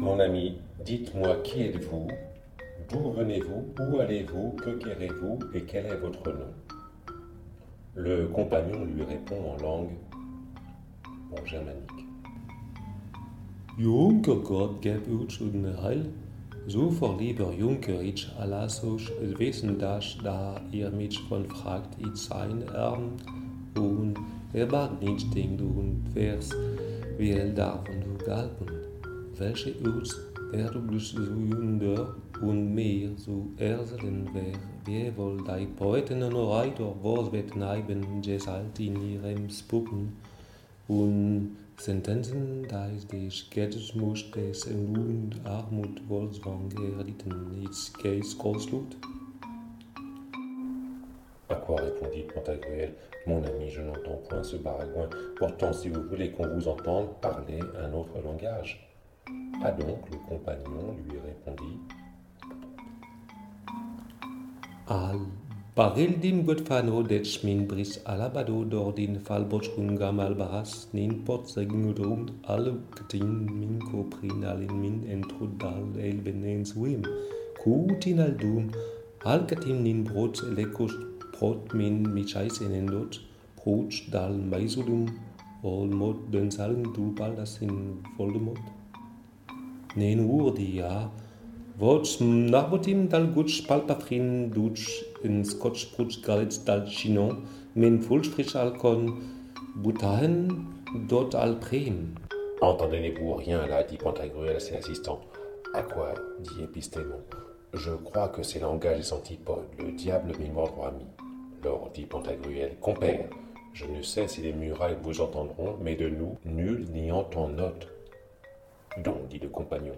Mon ami, dites-moi qui êtes-vous, d'où venez-vous, où allez-vous, que querrez-vous et quel est votre nom? Le compagnon lui répond en langue germanique. Junker Gott geb uns und Heil, so verlieber Junker ich Alasoch Wesen das, da ihr mich von fragt, ich sein Arm und mag nicht denkt und wers will davon du galten, welche uns erblich so junder und mehr so erselen wer wohl die Poeten und Reiter was wird neiben gesalt in ihrem Spuppen und Sentenzen, da ist die Schätzmus des und Armut Wolfswang erlitten, ist Geist Großlut. À quoi répondit Pantagruel? Mon ami, je n'entends point ce baragouin. Pourtant, si vous voulez qu'on vous entende, parlez un autre langage. Ah donc, le compagnon lui répondit. Al Barildin Godfano det min bris alabado dordin falbochun gamal baras nin pot segudum alle gtin min koprin alin min entrudal elbenens wim kutin aldum algatin nin brot lekos brot min michais enendot brot dal maisudum ol mod den salm du baldas in voldemort nen urdia Vots narbotim dal gutsch palpatrin dutsch in scotch brutsch galitz dal chinon, min fulsprich alcon butahen dot al prem. Entendez-vous rien là, dit Pantagruel à ses assistants. À quoi, dit Épistémon. Je crois que ces langages des antipodes, le diable m'y mordra mis. Lors, dit Pantagruel, compère, je ne sais si les murailles vous entendront, mais de nous, nul n'y entend note. Donc, dit le compagnon.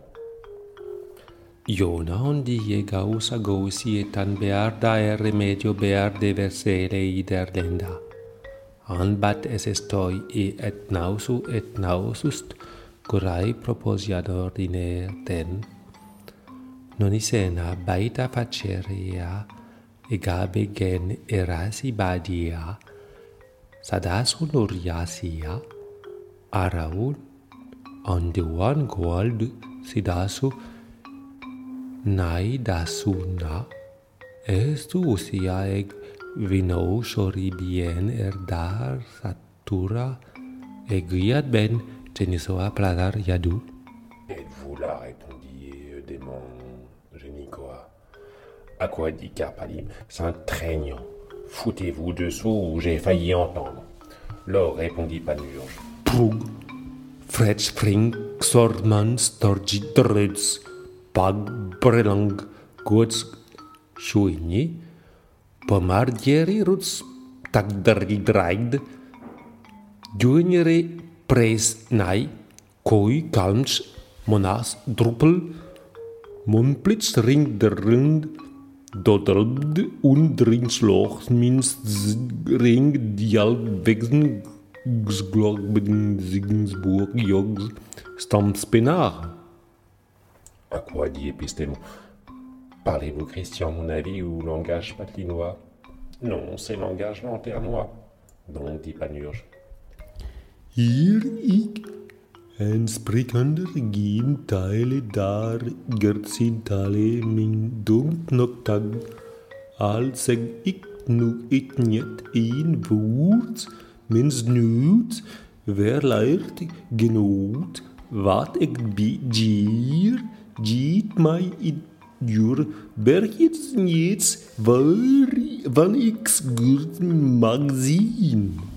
Iona die gausa gausi etan bearda remedio bearde versere iderlenda. Anbat es estoi et nausust corai proposiad ordiner ten. Non isena baita faceria egabe gen erasi badia sadasu noriasia araun ondewan gold sidasu Nai dasuna estu usiaeg vino shoribien erdar satura eguiat ben tenisoa pladar yadu. Êtes-vous là, répondit démon Génicoa. À quoi dit Carpalim, saint treignant. Foutez-vous dessous ou j'ai failli entendre. Lors répondit Panurge. Prug, Fred spring, Xordman, Storgi, Dreds, Pag, Brelang, Gods, Schuini, Pomardieri, Ruts, Tagdari, Draid, Juniore, Pres, Nai, Koi, Kalmsch, Monas, Druppel, Mumplitz, Ring, der Rind, Dodelbd, und Ringsloch, Minst, Ring, Dial, Wechsen, Glockbeden, Sigensburg, Jogs, Stampspenar. À quoi dit Épistémon? Parlez-vous christian, mon avis, ou langage patlinois? Non, c'est langage lanternois. Donc, dit Panurge. Hier ik en sprikender geen tale daar gertsin tale min dumt noktag al seg ik nu it niet een woord mins nuut verleert genoot wat ik begeer giet mij in jur bergjes niets waar van ik goed mag zien.